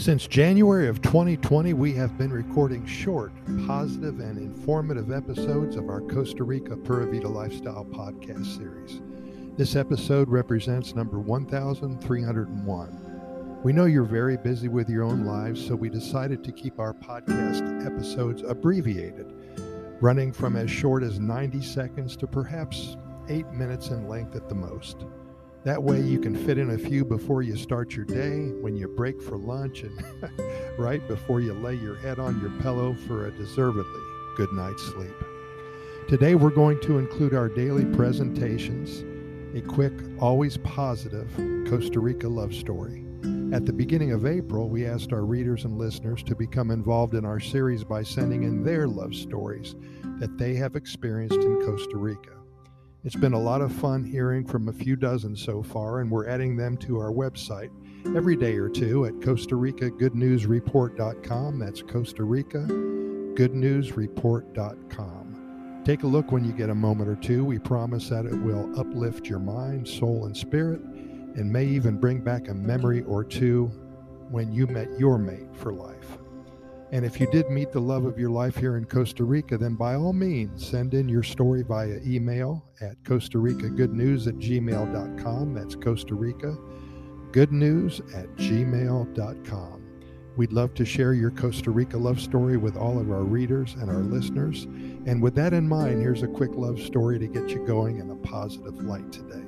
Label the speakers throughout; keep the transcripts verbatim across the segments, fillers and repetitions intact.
Speaker 1: Since January of twenty twenty, we have been recording short, positive, and informative episodes of our Costa Rica Pura Vida Lifestyle podcast series. This episode represents number one thousand three hundred one. We know you're very busy with your own lives, so we decided to keep our podcast episodes abbreviated, running from as short as ninety seconds to perhaps eight minutes in length at the most. That way you can fit in a few before you start your day, when you break for lunch, and right before you lay your head on your pillow for a deservedly good night's sleep. Today we're going to include our daily presentations, a quick, always positive Costa Rica love story. At the beginning of April, we asked our readers and listeners to become involved in our series by sending in their love stories that they have experienced in Costa Rica. It's been a lot of fun hearing from a few dozen so far, and we're adding them to our website every day or two at Costa Rica Good News Report dot com. That's Costa Rica Good News Report dot com. Take a look when you get a moment or two. We promise that it will uplift your mind, soul, and spirit, and may even bring back a memory or two when you met your mate for life. And if you did meet the love of your life here in Costa Rica, then by all means, send in your story via email at Costa Rica Good News at gmail dot com. That's Costa Rica Good News at gmail dot com. We'd love to share your Costa Rica love story with all of our readers and our listeners. And with that in mind, here's a quick love story to get you going in a positive light today.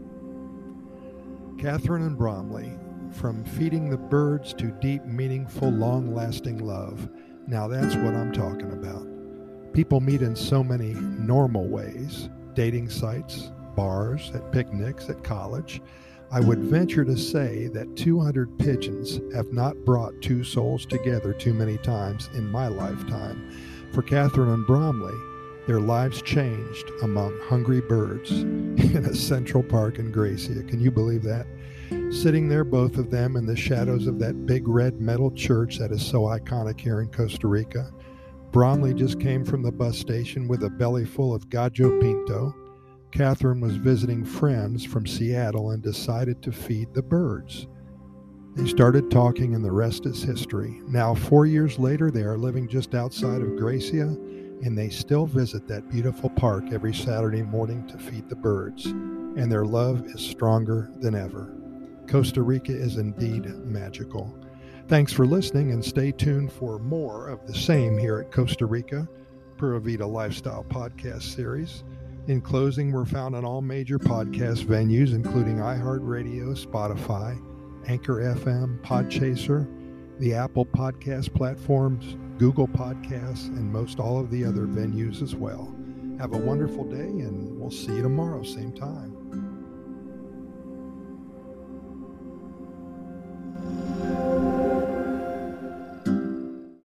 Speaker 1: Catherine and Bromley. From feeding the birds to deep, meaningful, long-lasting love. Now that's what I'm talking about. People meet in so many normal ways. Dating sites, bars, at picnics, at college. I would venture to say that two hundred pigeons have not brought two souls together too many times in my lifetime. For Catherine and Bromley, their lives changed among hungry birds in a Central Park in Gracia. Can you believe that? Sitting there, both of them, in the shadows of that big red metal church that is so iconic here in Costa Rica. Bromley just came from the bus station with a belly full of gallo pinto. Catherine was visiting friends from Seattle and decided to feed the birds. They started talking, and the rest is history. Now, four years later, they are living just outside of Gracia, and they still visit that beautiful park every Saturday morning to feed the birds. And their love is stronger than ever. Costa Rica is indeed magical. Thanks for listening, and stay tuned for more of the same here at Costa Rica Pura Vida Lifestyle Podcast Series. In closing, we're found on all major podcast venues, including iHeartRadio, Spotify, Anchor F M, Podchaser, the Apple Podcast platforms, Google Podcasts, and most all of the other venues as well. Have a wonderful day, and we'll see you tomorrow, same time.